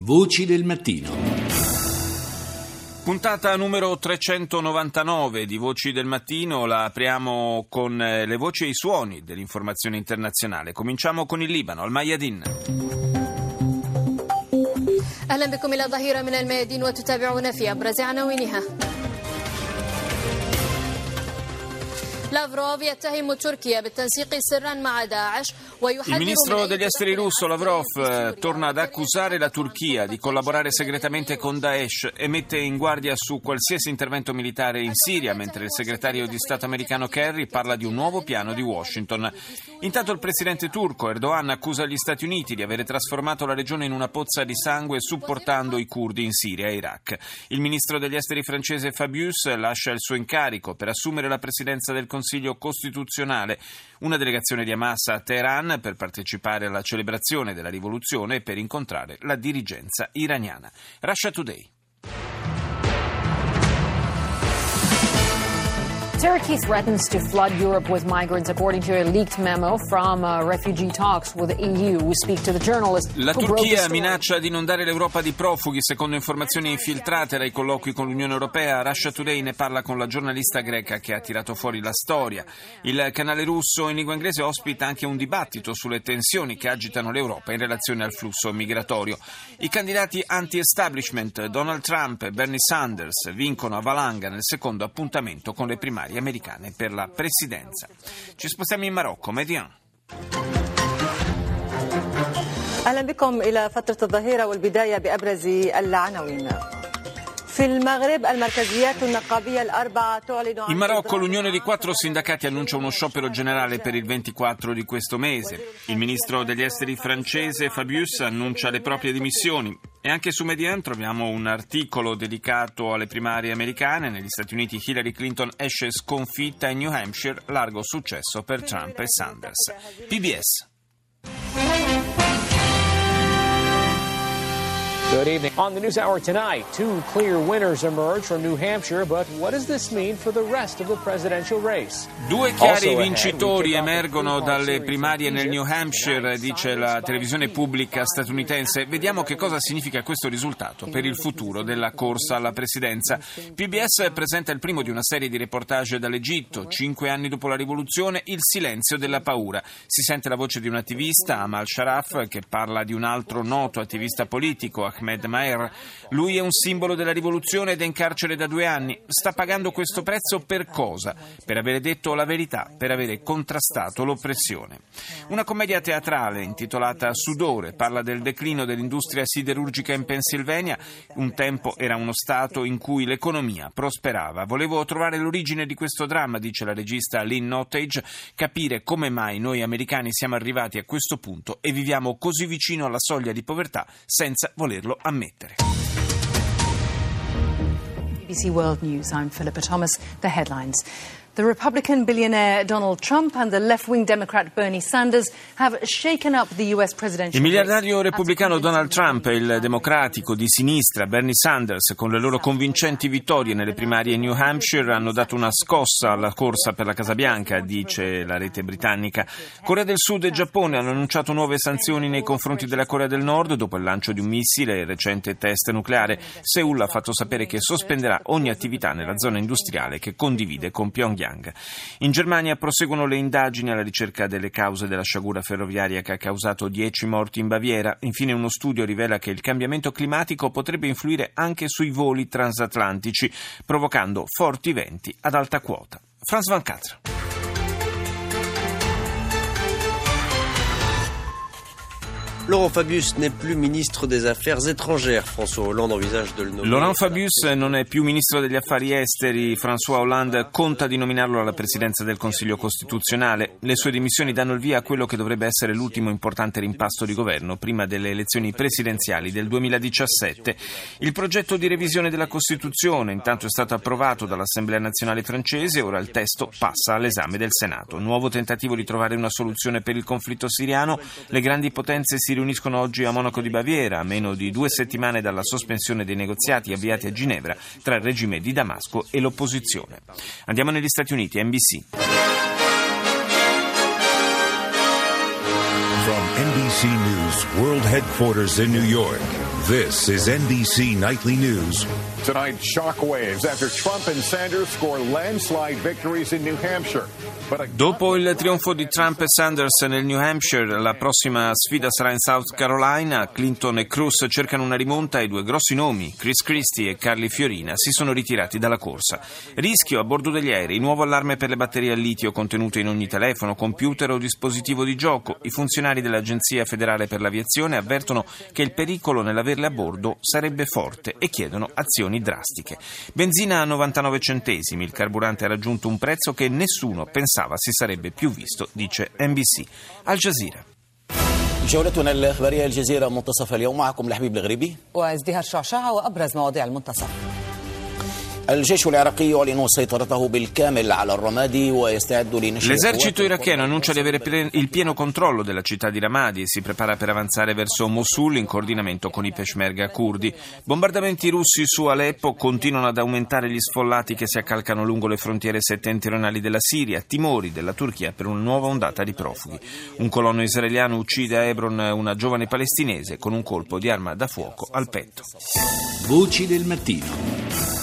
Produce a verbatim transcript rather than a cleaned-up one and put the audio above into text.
Voci del mattino. Puntata numero trecentonovantanove di Voci del Mattino, la apriamo con le voci e i suoni dell'informazione internazionale. Cominciamo con il Libano, al Mayadin. أهلا بكم إلى ظهيرة من الميادين وتتابعون في أبرز عناوينها. Il ministro degli esteri russo Lavrov torna ad accusare la Turchia di collaborare segretamente con Daesh e mette in guardia su qualsiasi intervento militare in Siria, mentre il segretario di Stato americano Kerry parla di un nuovo piano di Washington. Intanto il presidente turco Erdogan accusa gli Stati Uniti di avere trasformato la regione in una pozza di sangue supportando i curdi in Siria e Iraq. Il ministro degli esteri francese Fabius lascia il suo incarico per assumere la presidenza del Consiglio Costituzionale. Una delegazione di Hamas a Teheran per partecipare alla celebrazione della rivoluzione e per incontrare la dirigenza iraniana. Russia Today. Turkey threatens to flood Europe with migrants, according to a leaked memo from uh, refugee talks with the E U. We speak to the journalist. La Turchia minaccia di inondare l'Europa di profughi, secondo informazioni infiltrate dai colloqui con l'Unione Europea. Russia Today ne parla con la giornalista greca che ha tirato fuori la storia. Il canale russo in lingua inglese ospita anche un dibattito sulle tensioni che agitano l'Europa in relazione al flusso migratorio. I candidati anti-establishment Donald Trump e Bernie Sanders vincono a valanga nel secondo appuntamento con le primarie americane per la presidenza. Ci spostiamo in Marocco, Median. أهلا بكم إلى فترة الظهيرة والبداية بأبرز العناوين. In Marocco l'unione di quattro sindacati annuncia uno sciopero generale per il ventiquattro di questo mese. Il ministro degli esteri francese Fabius annuncia le proprie dimissioni. E anche su Median troviamo un articolo dedicato alle primarie americane. Negli Stati Uniti Hillary Clinton esce sconfitta in New Hampshire, largo successo per Trump e Sanders. P B S. Good evening. On the News Hour tonight, two clear winners emerge from New Hampshire, but what does this mean for the rest of the presidential race? Due chiari vincitori emergono dalle primarie nel New Hampshire, dice la televisione pubblica statunitense. Vediamo che cosa significa questo risultato per il futuro della corsa alla presidenza. P B S presenta il primo di una serie di reportage dall'Egitto. Cinque anni dopo la rivoluzione, il silenzio della paura. Si sente la voce di un attivista, Amal Sharaf, che parla di un altro noto attivista politico, Ahmed Maher. Lui è un simbolo della rivoluzione ed è in carcere da due anni. Sta pagando questo prezzo per cosa? Per avere detto la verità, per avere contrastato l'oppressione. Una commedia teatrale intitolata Sudore parla del declino dell'industria siderurgica in Pennsylvania. Un tempo era uno stato in cui l'economia prosperava. Volevo trovare l'origine di questo dramma, dice la regista Lynn Nottage, capire come mai noi americani siamo arrivati a questo punto e viviamo così vicino alla soglia di povertà senza volerlo ammettere. B B C World News, I'm Philippa Thomas. The headlines. The Republican billionaire Donald Trump and the left-wing Democrat Bernie Sanders have shaken up the U S presidential. Il miliardario repubblicano Donald Trump e il democratico di sinistra Bernie Sanders, con le loro convincenti vittorie nelle primarie in New Hampshire, hanno dato una scossa alla corsa per la Casa Bianca, dice la rete britannica. Corea del Sud e Giappone hanno annunciato nuove sanzioni nei confronti della Corea del Nord dopo il lancio di un missile e il recente test nucleare. Seul ha fatto sapere che sospenderà ogni attività nella zona industriale che condivide con Pyongyang. In Germania proseguono le indagini alla ricerca delle cause della sciagura ferroviaria che ha causato dieci morti in Baviera. Infine uno studio rivela che il cambiamento climatico potrebbe influire anche sui voli transatlantici, provocando forti venti ad alta quota. Frans van Catra. Laurent Fabius n'est plus ministre des Affaires étrangères. François Hollande envisage de le nommer. Laurent Fabius non è più ministro degli affari esteri. François Hollande conta di nominarlo alla presidenza del Consiglio Costituzionale. Le sue dimissioni danno il via a quello che dovrebbe essere l'ultimo importante rimpasto di governo prima delle elezioni presidenziali del duemiladiciassette. Il progetto di revisione della Costituzione intanto è stato approvato dall'Assemblea nazionale francese. Ora il testo passa all'esame del Senato. Nuovo tentativo di trovare una soluzione per il conflitto siriano. Le grandi potenze si riuniscono oggi a Monaco di Baviera, a meno di due settimane dalla sospensione dei negoziati avviati a Ginevra tra il regime di Damasco e l'opposizione. Andiamo negli Stati Uniti, N B C. From N B C C News World Headquarters in New York. This is N B C Nightly News. Tonight, shockwaves after Trump and Sanders score landslide victories in New Hampshire. Dopo il trionfo di Trump e Sanders nel New Hampshire, la prossima sfida sarà in South Carolina. Clinton e Cruz cercano una rimonta e due grossi nomi, Chris Christie e Carly Fiorina, si sono ritirati dalla corsa. Rischio a bordo degli aerei, nuovo allarme per le batterie al litio contenute in ogni telefono, computer o dispositivo di gioco. I funzionari dell'Agenzia Federale per l'Aviazione avvertono che il pericolo nell'averle a bordo sarebbe forte e chiedono azioni drastiche. Benzina a novantanove centesimi, il carburante ha raggiunto un prezzo che nessuno pensava si sarebbe più visto, dice N B C. Al Jazeera. جولتنا الإخبارية الجزيرة منتصف اليوم معكم لحبيب الغريبي وازدهار شعشاع وأبرز مواضيع المنتصف. L'esercito iracheno annuncia di avere il pieno controllo della città di Ramadi e si prepara per avanzare verso Mosul in coordinamento con i peshmerga curdi. Bombardamenti russi su Aleppo continuano ad aumentare gli sfollati che si accalcano lungo le frontiere settentrionali della Siria, timori della Turchia per una nuova ondata di profughi. Un colonno israeliano uccide a Hebron una giovane palestinese con un colpo di arma da fuoco al petto. Voci del mattino.